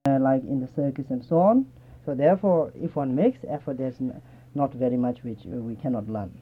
like in the circus and so on. So therefore, if one makes effort, there's not very much which we cannot learn.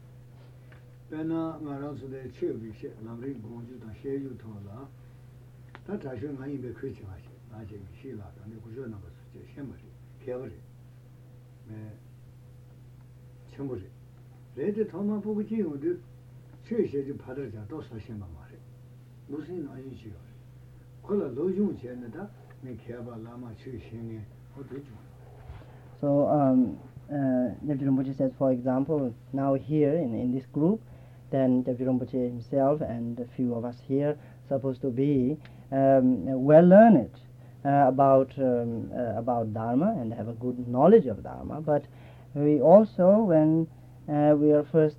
So Deputy Rinpoche says, for example, now here in this group, then Deputy Rinpoche himself and a few of us here supposed to be well learned about Dharma and have a good knowledge of Dharma. But we also, when we are first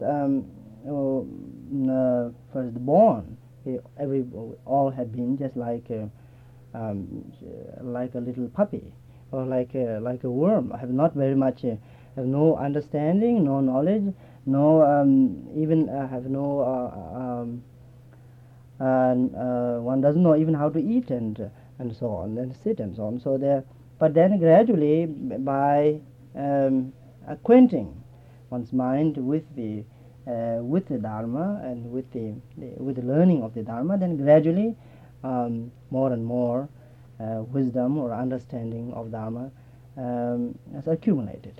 born, all have been just like a little puppy or like a worm. Have not very much, have no understanding, no knowledge, no even have no one doesn't know even how to eat and so on and sit and so on. So there, but then gradually by acquainting one's mind with the Dharma and with the learning of the Dharma, then gradually more and more wisdom or understanding of Dharma has accumulated.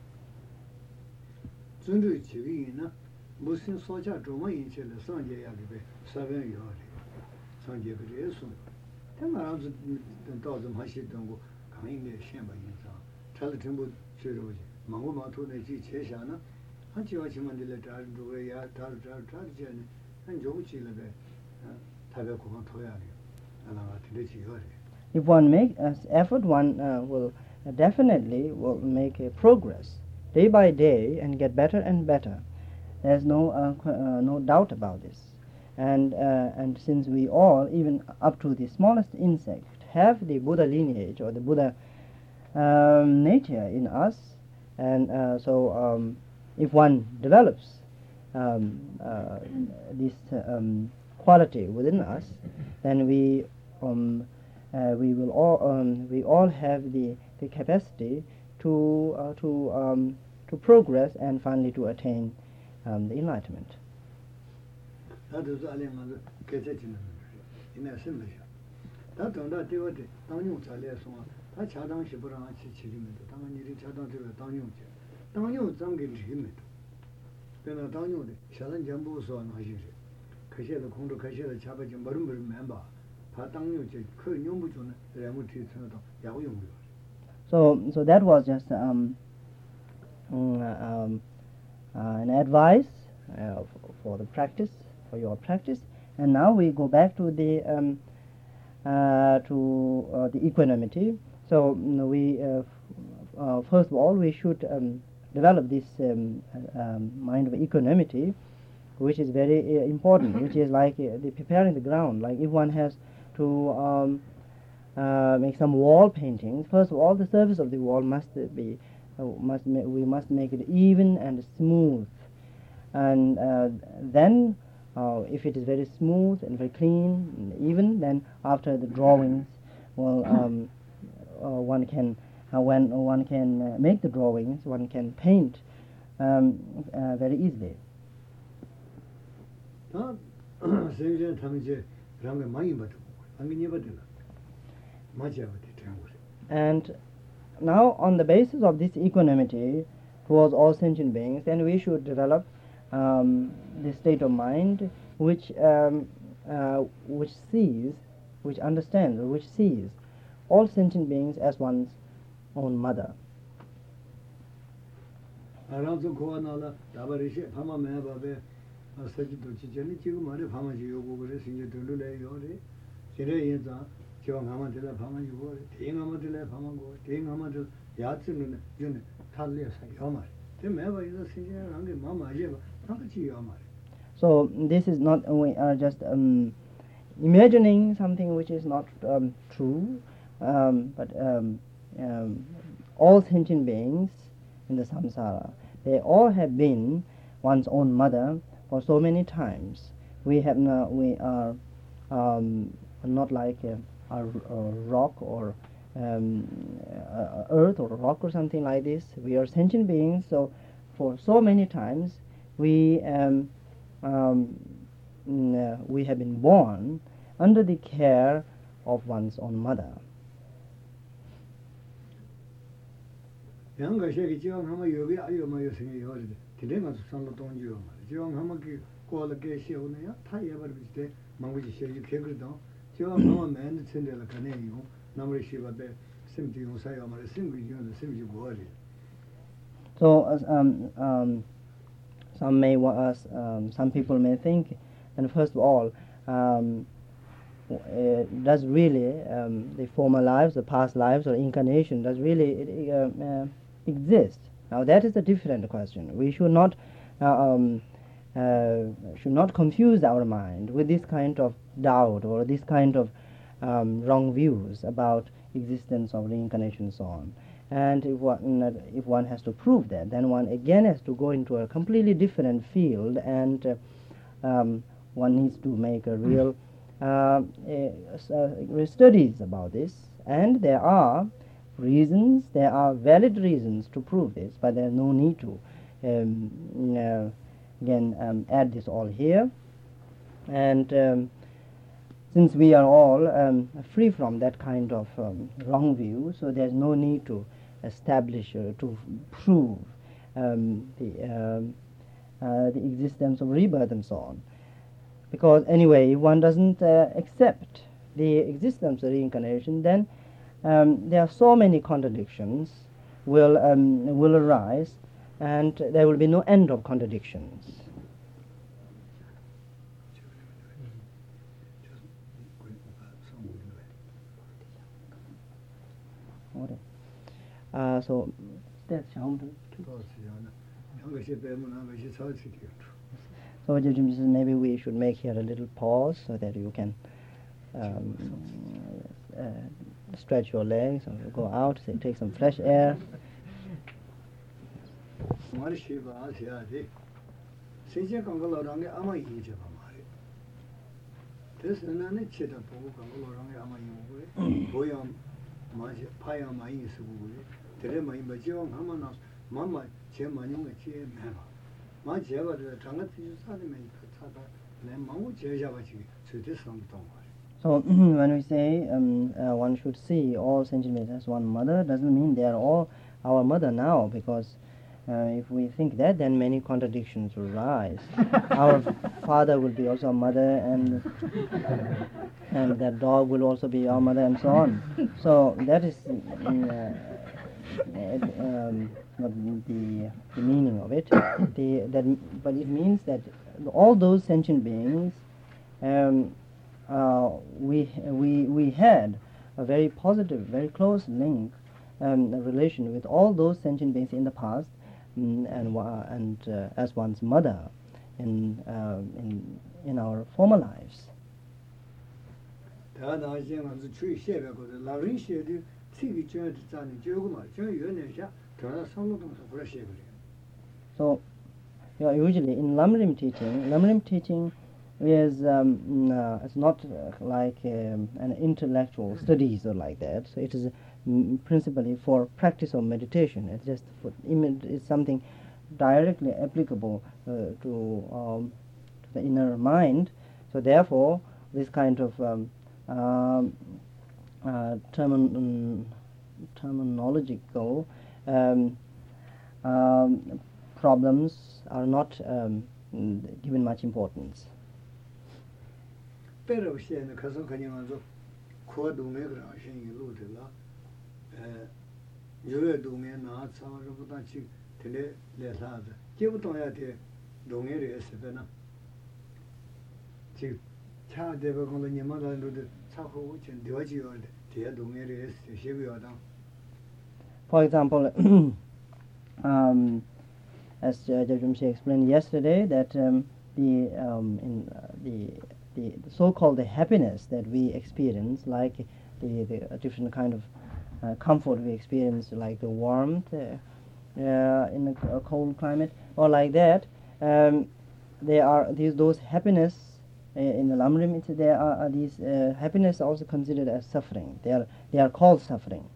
If one makes effort, one will definitely will make a progress day by day and get better and better. There's no doubt about this. And since we all, even up to the smallest insect, have the Buddha lineage or the Buddha nature in us, and so if one develops this quality within us, then we will all have the capacity to progress and finally to attain the enlightenment. So that was just an advice for the practice, for your practice. And now we go back to the equanimity. So we first of all we should develop this mind of equanimity, which is very important, which is like the preparing the ground. Like if one has to make some wall paintings, first of all the surface of the wall must be we must make it even and smooth, and then if it is very smooth and very clean and even, then after the drawings, well, one can when one can make the drawings, one can paint very easily. And now, on the basis of this equanimity towards all sentient beings, then we should develop the state of mind which sees, which understands, or which sees all sentient beings as one's own mother. So this is not, we are just imagining something which is not true, but all sentient beings in the samsara, they all have been one's own mother for so many times. We are not like a rock or earth or rock or something like this. We are sentient beings, so for so many times we we have been born under the care of one's own mother. So some people may think, and first of all, does really the former lives, the past lives, or incarnation does really exist? Now that is a different question. We should not confuse our mind with this kind of doubt or this kind of wrong views about existence of reincarnation and so on. And if one has to prove that, then one again has to go into a completely different field, and one needs to make a real studies about this. And there are reasons, there are valid reasons to prove this, but there's no need to again add this all here. And since we are all free from that kind of wrong view, so there's no need to establish to prove the existence of rebirth and so on. Because anyway, if one doesn't accept the existence of reincarnation, then there are so many contradictions will arise, and there will be no end of contradictions. So that's how. So maybe we should make here a little pause so that you can stretch your legs or go out, say, take some fresh air. So when we say one should see all sentient beings as one mother, doesn't mean they are all our mother now, because if we think that, then many contradictions will rise. Our father will be also a mother, and that dog will also be our mother, and so on. So that is not the meaning of it. But it means that all those sentient beings, we had a very positive, very close link, a relation with all those sentient beings in the past, and as one's mother in our former lives. So usually in Lamrim teaching is it's not like an intellectual studies or like that. So it is principally for practice of meditation. It's just it's something directly applicable to the inner mind. So therefore, this kind of terminological problems are not given much importance. For example, as Jajumshi explained yesterday, that the so-called happiness that we experience, like the different kind of comfort we experience, like the warmth in a cold climate, or like that, there are those happiness in the Lamrim. There are these happiness also considered as suffering. They are called suffering.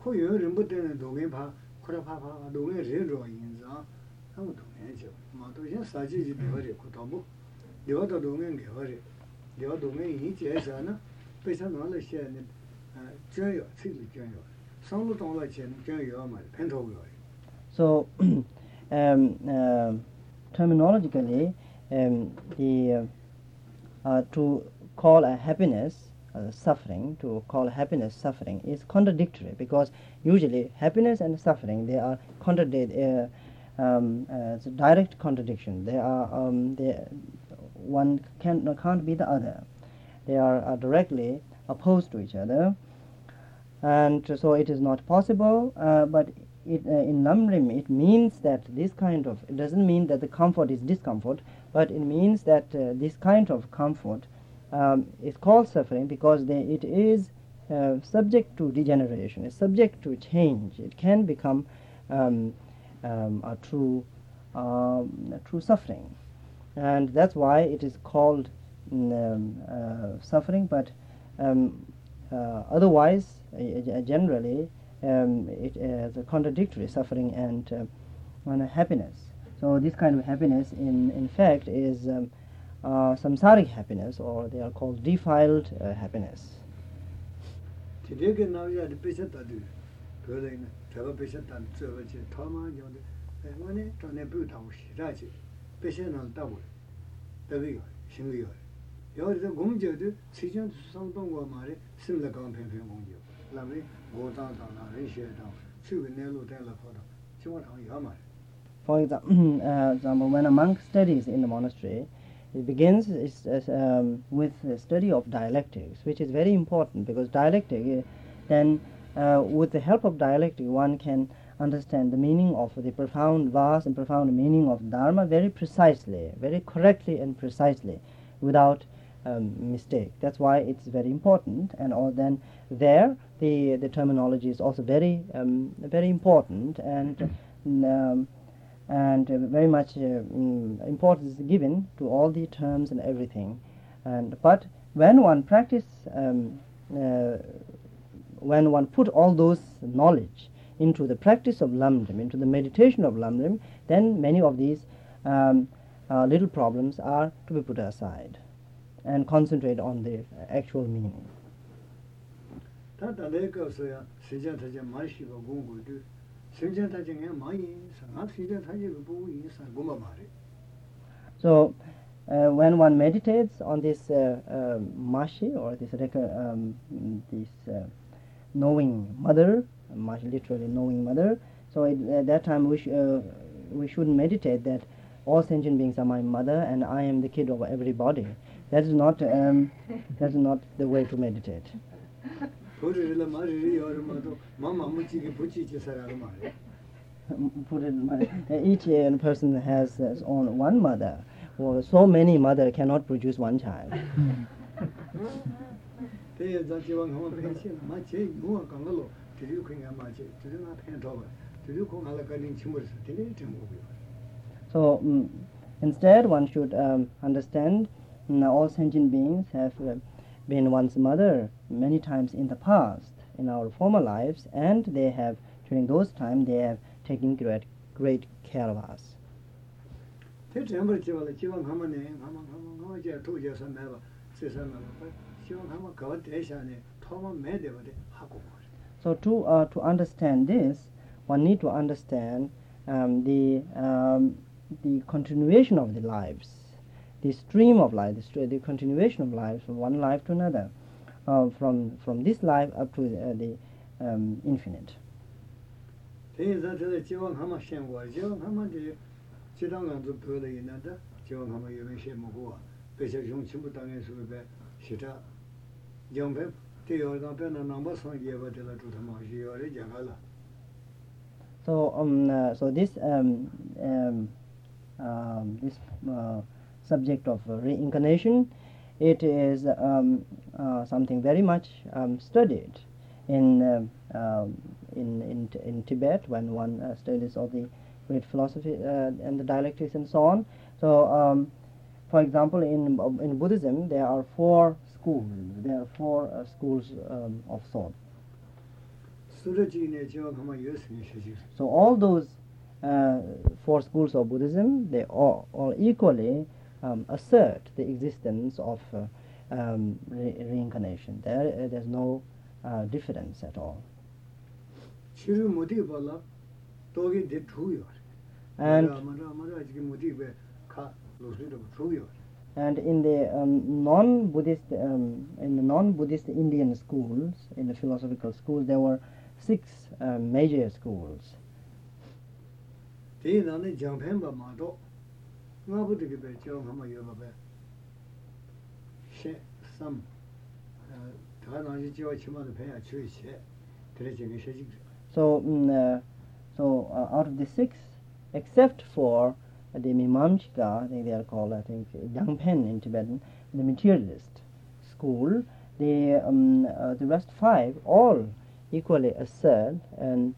코요 림부터는 동해파 코라파파 동해 레로 인자 아무 동해죠 마도신 사지지 되버리 고도부 여도 동해 개버리 여 동해 이제잖아 배선을 시에는 줘요 지금 줘요 상로 동로 钱 줘요 말 펜토고요 So terminologically to call a happiness suffering, to call happiness suffering is contradictory, because usually happiness and suffering, they are it's a direct contradiction. They are one can't be the other. They are directly opposed to each other, and so it is not possible. But in Lamrim, it means that this kind of, it doesn't mean that the comfort is discomfort, but it means that this kind of comfort is called suffering because it is subject to degeneration, it's subject to change. It can become a true suffering, and that's why it is called suffering. But otherwise, generally, it is a contradictory, suffering and happiness. So this kind of happiness, in fact, is samsaric happiness, or they are called defiled happiness. Today now you had patient that do building travel patient and service Tama Yon money to ne boot house Raji patient on double the way Shingley. You're the Gongjo, Sijan Santong Mari, similar company Gongjo. Lovely, go down, ratio down, two in Nelo Telephone. For example, when a monk studies in the monastery, it begins with the study of dialectics, which is very important, because dialectic, then with the help of dialectic, one can understand the meaning of the vast and profound meaning of Dharma very precisely, very correctly and precisely, without mistake. That's why it's very important. And then there, the terminology is also very very important, and very much importance is given to all the terms and everything. But when one when one put all those knowledge into the practice of Lamrim, into the meditation of Lamrim, then many of these little problems are to be put aside and concentrate on the actual meaning. So when one meditates on this Mashi, or this knowing mother, Mashi literally knowing mother, so at that time we shouldn't meditate that all sentient beings are my mother and I am the kid of everybody. That is not the way to meditate. Each person has his own one mother. Well, so many mothers cannot produce one child. So instead, one should understand all sentient beings have been one's mother many times in the past, in our former lives, and they have, during those times, they have taken great care of us. So to understand this, one need to understand the continuation of the lives, the stream of life, the continuation of lives from one life to another, from this life up to the infinite. So this subject of reincarnation, it is something very much studied in Tibet, when one studies all the great philosophy and the dialectics and so on. So, for example, in Buddhism, there are four schools. There are four schools of thought. 수르지네 저 가만 예수님 세지. So all those four schools of Buddhism, they all equally assert the existence of reincarnation. There's no difference at all. 치료 못이 발라 도게 대 주요. And 마라 지금 못이 왜가 로스도 주요. And in the non-Buddhist Indian schools, in the philosophical schools, there were 6 major schools. 대나는 장편바 마도 나부터게 배 정하면 여봐봐. 셰삼 다나지 지와 치마도 배야 주의시. 그래지게 세지. So out of the 6, except for the Mimamsika, I think they are called, I think, Yangpen in Tibetan, the materialist school, the rest 5 all equally assert and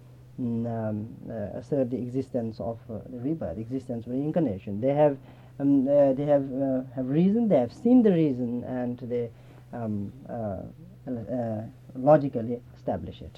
assert the existence of the rebirth, existence of reincarnation. They have reason, they have seen the reason, and they logically establish it.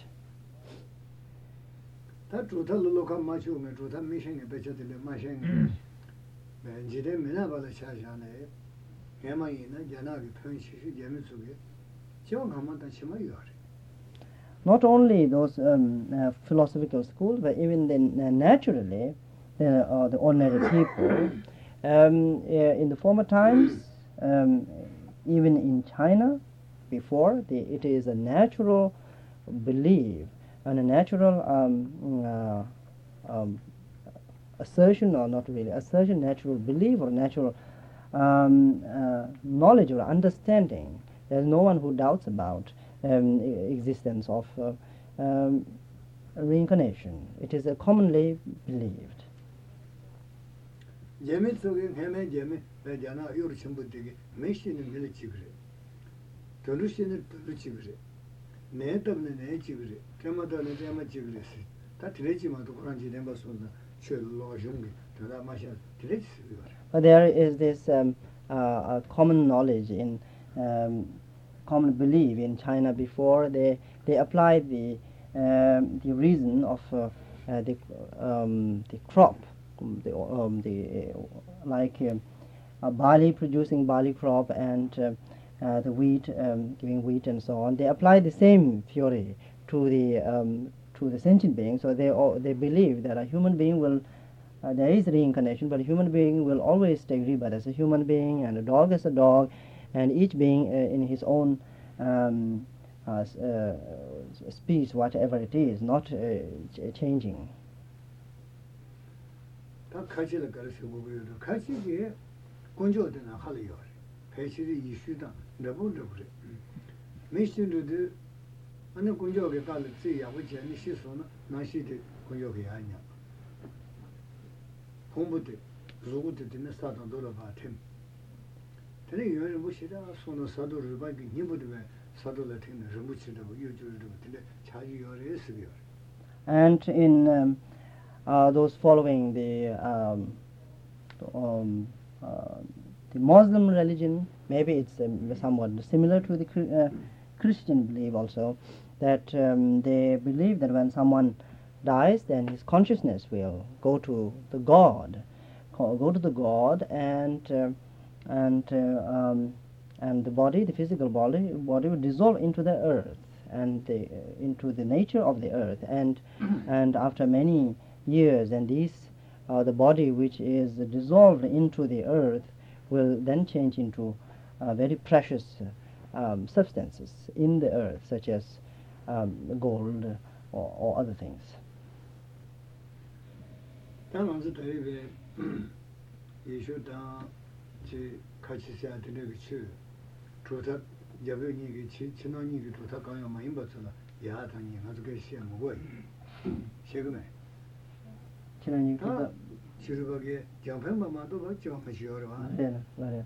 다 주탈로 로카 마치오면 주탈 미션에 배쳐들래 마션 벤지데 미나발에 차샤네 해마이나 야나기 편시시 예미 속에 저 가만다 치마요. Not only those philosophical schools, but even naturally, the ordinary people. In the former times, even in China, before, it is a natural belief and a natural assertion, or not really assertion, natural belief or natural knowledge or understanding. There's no one who doubts about existence of reincarnation. It is commonly believed. 예미 속에 해매 예미 배잖아 요르 전부 되게 메시는 밀지 그래. 도루시는 도루지 그래. 내 때문에 내 지그래. 때마다는 때마 지그래. 다 들리지만도 그런 지내 봐서는 철로 중게 다 마셔 들리지. But there is this a common knowledge in common belief in China before they applied the reason of the crop, like a barley producing barley crop and the wheat giving wheat and so on. They apply the same theory to the sentient being. So they believe that a human being will there is reincarnation, but a human being will always take rebirth as a human being, and a dog as a dog, and each being in his own speech, whatever it is, not changing. 다 가지를 가르쳐 보고요. 가지게 건조되나 할이요. 배실이 이슈다. 너무도 그래. 메신도도 안에 건조하게 갈을 지야고 전에 시소는 나시데 건조하게 아니야. 공부도 누구도 되는 사단 돌아봐 템. 근데 요즘 무시다 손을 사도를 봐기 니부도 왜 사도를 되는 무치다고 요즘도 근데 자기 요래 쓰요. And in those following the Muslim religion, maybe it's somewhat similar to the Christian belief also, that they believe that when someone dies, then his consciousness will go to the God, and the body, the physical body will dissolve into the earth and into the nature of the earth, and after many years, and the body which is dissolved into the earth will then change into very precious substances in the earth, such as gold or other things. 지르바게 장편마마도 뭐 지원하시오라. 네.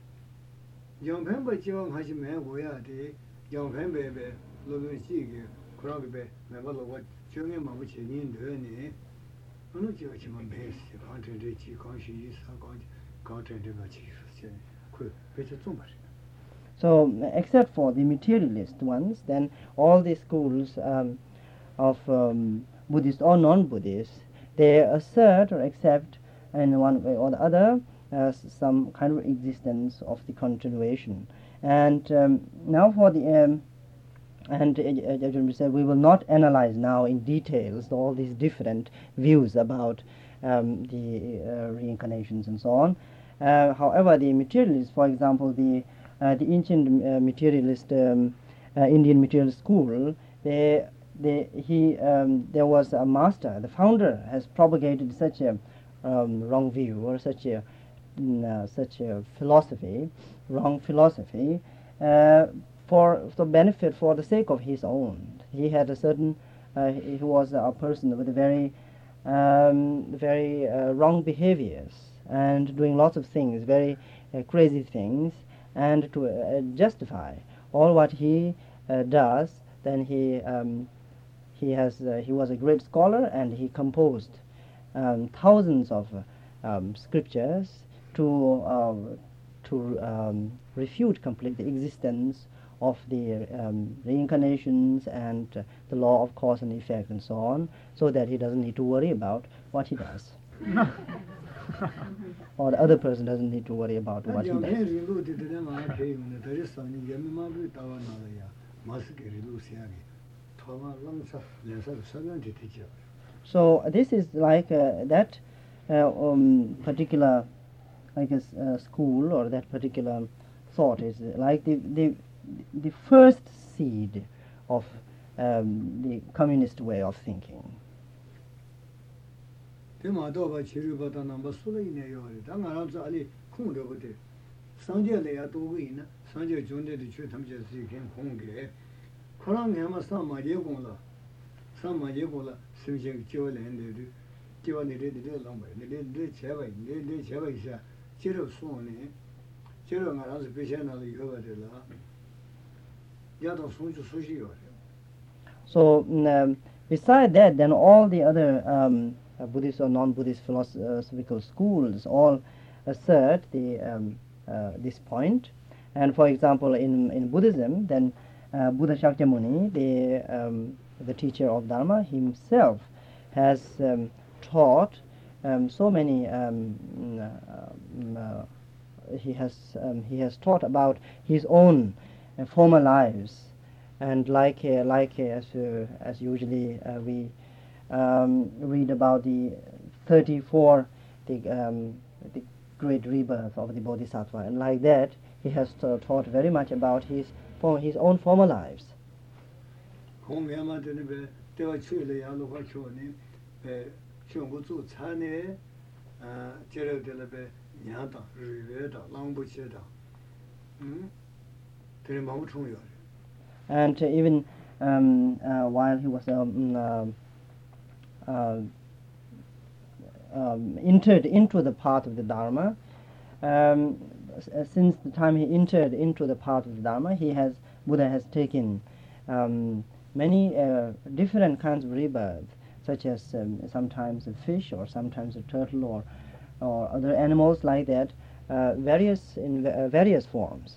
장편바 지원하시면 뭐야 돼? 장편베베 로그시게 그러게 매발로가 정해만 붙이는데 어느 지역이면 베스 컨텐츠 관심이 사건 컨텐츠가 지금 그 배치 좀 봐. So except for the materialist ones, then all the schools of Buddhist or non-Buddhist, they assert or accept in one way or the other some kind of existence of the continuation. And now for the we said we will not analyze now in details all these different views about the reincarnations and so on. However, the materialists, for example, the ancient materialist Indian materialist school, there was a master, the founder has propagated such a wrong view or such a philosophy, wrong philosophy, for the benefit, for the sake of his own. He had a certain, he was a person with very wrong behaviors and doing lots of things, very crazy things, and to justify all what he does, then he was a great scholar, and he composed thousands of scriptures to refute completely the existence of the reincarnations and the law of cause and effect and so on, so that he doesn't need to worry about what he does. Or the other person doesn't need to worry about what he does. So this is like that particular, like a school, or that particular thought is like the first seed of the communist way of thinking. So beside that, then all the other Buddhist or non-Buddhist philosophical schools all assert the this point. And for example, in Buddhism, then Buddha Shakyamuni, the teacher of Dharma, himself has taught so many. He has taught about his own former lives, and like as usually we read about the 34 the great rebirth of the Bodhisattva, and like that he has taught very much about his own former lives. And even while he was entered into the path of the Dharma, since the time he entered into the path of the Dharma, Buddha has taken many different kinds of rebirth, such as sometimes a fish, or sometimes a turtle, or other animals like that, in various forms.